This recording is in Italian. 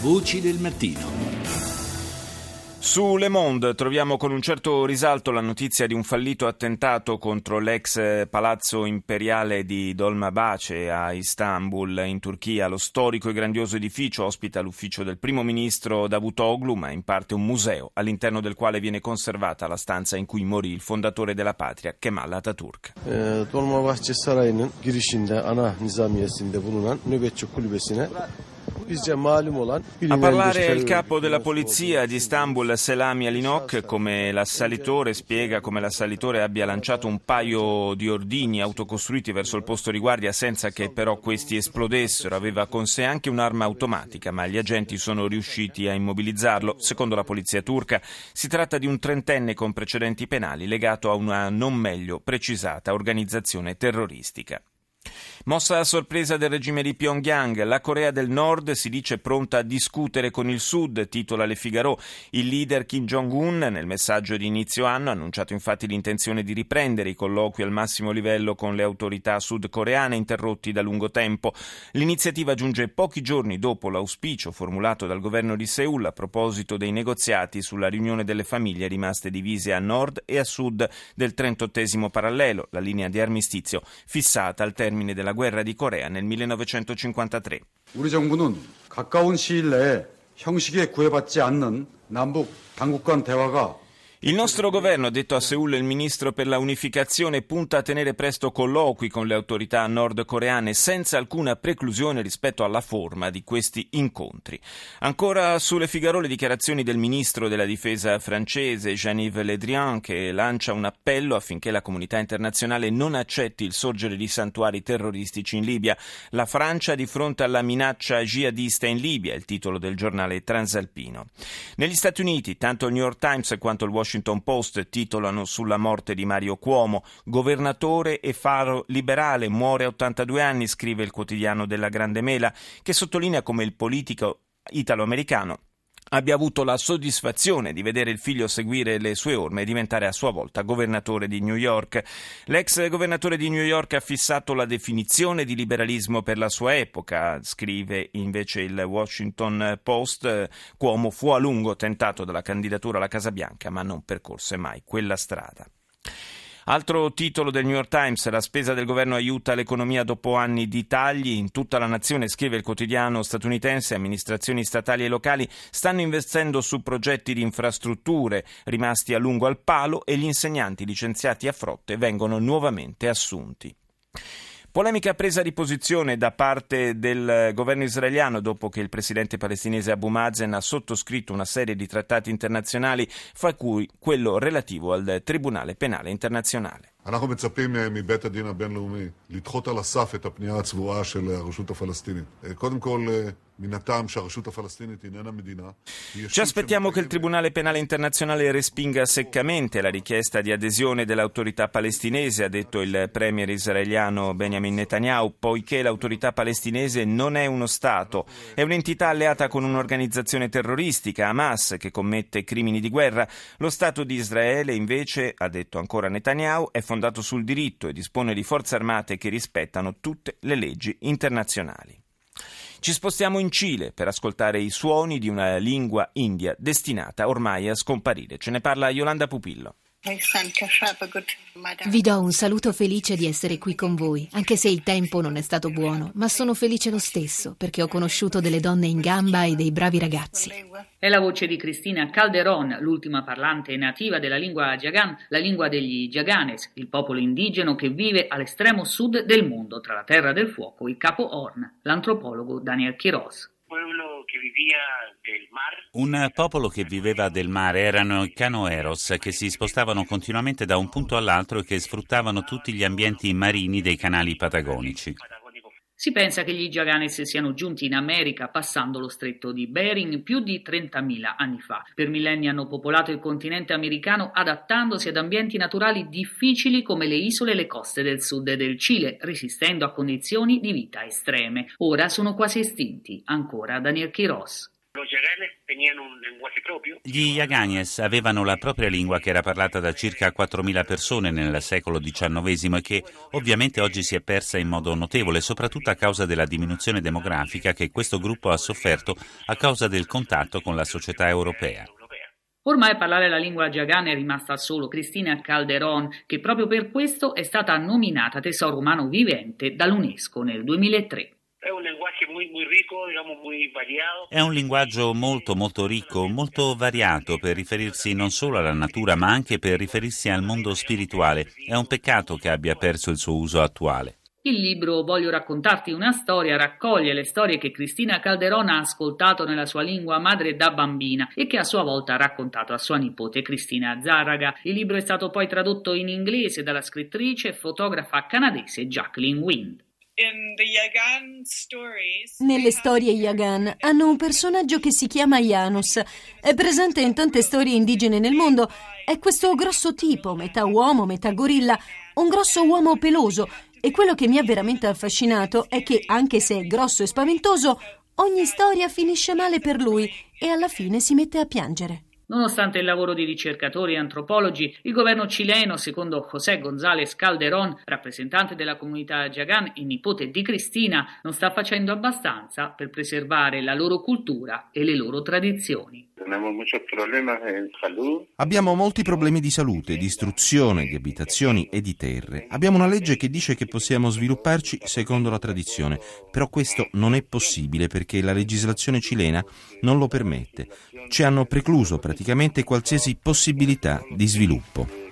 Voci del mattino. Su Le Monde troviamo con un certo risalto la notizia di un fallito attentato contro l'ex palazzo imperiale di Dolmabahce a Istanbul, in Turchia. Lo storico e grandioso edificio ospita l'ufficio del primo ministro Davutoglu, ma in parte un museo, all'interno del quale viene conservata la stanza in cui morì il fondatore della patria, Kemal Atatürk. Dolmabahce Sarayı'nın girişinde ana nizamiyesinde bulunan nöbetçi kulübesine a parlare il capo della polizia di Istanbul, Selami Alinok, come l'assalitore spiega come l'assalitore abbia lanciato un paio di ordigni autocostruiti verso il posto di guardia senza che però questi esplodessero. Aveva con sé anche un'arma automatica, ma gli agenti sono riusciti a immobilizzarlo. Secondo la polizia turca si tratta di un trentenne con precedenti penali legato a una non meglio precisata organizzazione terroristica. Mossa a sorpresa del regime di Pyongyang, la Corea del Nord si dice pronta a discutere con il Sud, titola Le Figaro. Il leader Kim Jong-un nel messaggio di inizio anno ha annunciato infatti l'intenzione di riprendere i colloqui al massimo livello con le autorità sudcoreane interrotti da lungo tempo. L'iniziativa giunge pochi giorni dopo l'auspicio formulato dal governo di Seul a proposito dei negoziati sulla riunione delle famiglie rimaste divise a nord e a sud del 38° parallelo, la linea di armistizio fissata al termine della guerra di Corea nel 1953. 우리 정부는 가까운 시일 내에 형식에 구애받지 않는 남북 당국 간 대화가 Il nostro governo, ha detto a Seul il ministro per la unificazione, punta a tenere presto colloqui con le autorità nordcoreane senza alcuna preclusione rispetto alla forma di questi incontri. Ancora sulle Figaro le dichiarazioni del ministro della difesa francese Jean-Yves Le Drian, che lancia un appello affinché la comunità internazionale non accetti il sorgere di santuari terroristici in Libia. La Francia di fronte alla minaccia jihadista in Libia, è il titolo del giornale transalpino. Negli Stati Uniti, tanto il New York Times quanto il Washington Post titolano sulla morte di Mario Cuomo. Governatore e faro liberale, muore a 82 anni, scrive il quotidiano della Grande Mela, che sottolinea come il politico italo-americano abbia avuto la soddisfazione di vedere il figlio seguire le sue orme e diventare a sua volta governatore di New York. L'ex governatore di New York ha fissato la definizione di liberalismo per la sua epoca, scrive invece il Washington Post. Cuomo fu a lungo tentato dalla candidatura alla Casa Bianca, ma non percorse mai quella strada. Altro titolo del New York Times, la spesa del governo aiuta l'economia dopo anni di tagli. In tutta la nazione, scrive il quotidiano statunitense, amministrazioni statali e locali stanno investendo su progetti di infrastrutture rimasti a lungo al palo e gli insegnanti licenziati a frotte vengono nuovamente assunti. Polemica presa di posizione da parte del governo israeliano dopo che il presidente palestinese Abu Mazen ha sottoscritto una serie di trattati internazionali, fra cui quello relativo al Tribunale Penale Internazionale. אנחנו מצפים מבית הדין הבינלאומי לדחות על הסף את הפנייה הצבועה של הרשות הפלסטינית. קודם כל, מן הטעם שהרשות הפלסטינית איננה מדינה. Ci aspettiamo che il Tribunale Penale Internazionale respinga seccamente la richiesta di adesione dell'autorità palestinese, ha detto il premier israeliano Benjamin Netanyahu, poiché l'autorità palestinese non è uno Stato, è un'entità alleata con un'organizzazione terroristica, Hamas, che commette crimini di guerra. Lo Stato di Israele, invece, ha detto ancora Netanyahu, è fondato sul diritto e dispone di forze armate che rispettano tutte le leggi internazionali. Ci spostiamo in Cile per ascoltare i suoni di una lingua india destinata ormai a scomparire. Ce ne parla Yolanda Pupillo. Vi do un saluto felice di essere qui con voi, anche se il tempo non è stato buono, ma sono felice lo stesso perché ho conosciuto delle donne in gamba e dei bravi ragazzi. È la voce di Cristina Calderón, l'ultima parlante nativa della lingua Yagan, la lingua degli Yaganes, il popolo indigeno che vive all'estremo sud del mondo, tra la Terra del Fuoco e il Capo Horn, l'antropologo Daniel Quiroz. Un popolo che viveva del mare erano i canoeros, che si spostavano continuamente da un punto all'altro e che sfruttavano tutti gli ambienti marini dei canali patagonici. Si pensa che gli Yaganes siano giunti in America passando lo stretto di Bering più di 30.000 anni fa. Per millenni hanno popolato il continente americano adattandosi ad ambienti naturali difficili come le isole e le coste del sud del Cile, resistendo a condizioni di vita estreme. Ora sono quasi estinti. Ancora Daniel Quiroz. Gli Yaganes avevano la propria lingua che era parlata da circa 4.000 persone nel secolo XIX e che ovviamente oggi si è persa in modo notevole, soprattutto a causa della diminuzione demografica che questo gruppo ha sofferto a causa del contatto con la società europea. Ormai parlare la lingua Yagan è rimasta solo Cristina Calderón, che proprio per questo è stata nominata Tesoro Umano Vivente dall'UNESCO nel 2003. È un linguaggio molto ricco, molto variato per riferirsi non solo alla natura ma anche per riferirsi al mondo spirituale. È un peccato che abbia perso il suo uso attuale. Il libro Voglio raccontarti una storia raccoglie le storie che Cristina Calderón ha ascoltato nella sua lingua madre da bambina e che a sua volta ha raccontato a sua nipote Cristina Zárraga. Il libro è stato poi tradotto in inglese dalla scrittrice e fotografa canadese Jacqueline Wind. Nelle storie Yagan hanno un personaggio che si chiama Janus. È presente in tante storie indigene nel mondo. È questo grosso tipo, metà uomo, metà gorilla, un grosso uomo peloso. E quello che mi ha veramente affascinato è che, anche se è grosso e spaventoso, ogni storia finisce male per lui e alla fine si mette a piangere. Nonostante il lavoro di ricercatori e antropologi, il governo cileno, secondo José González Calderón, rappresentante della comunità Yagan e nipote di Cristina, non sta facendo abbastanza per preservare la loro cultura e le loro tradizioni. Abbiamo molti problemi di salute, di istruzione, di abitazioni e di terre. Abbiamo una legge che dice che possiamo svilupparci secondo la tradizione, però questo non è possibile perché la legislazione cilena non lo permette. Ci hanno precluso praticamente qualsiasi possibilità di sviluppo.